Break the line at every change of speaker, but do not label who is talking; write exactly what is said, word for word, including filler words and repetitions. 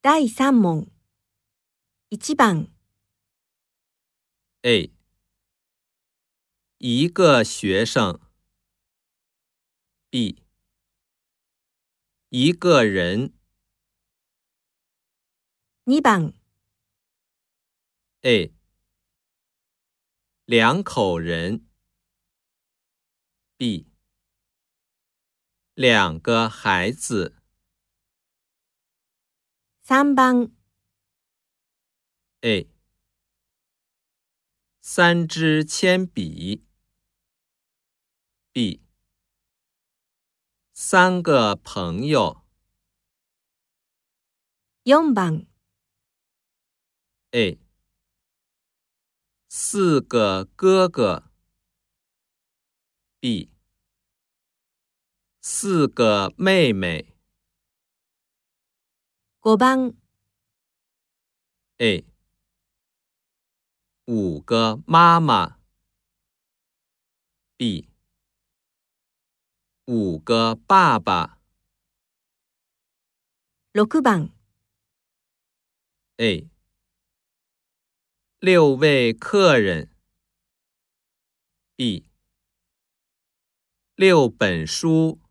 だいさん問。いち番
A 一个学生 B 一个人
に番
A 两口人 B 两个孩子
さん番
A 三支铅笔 B 三个朋友
よん番
A 四个哥哥 B 四个妹妹
ご番
A 五个妈妈 B 五个爸爸
ろく番
A 六位客人 B 六本书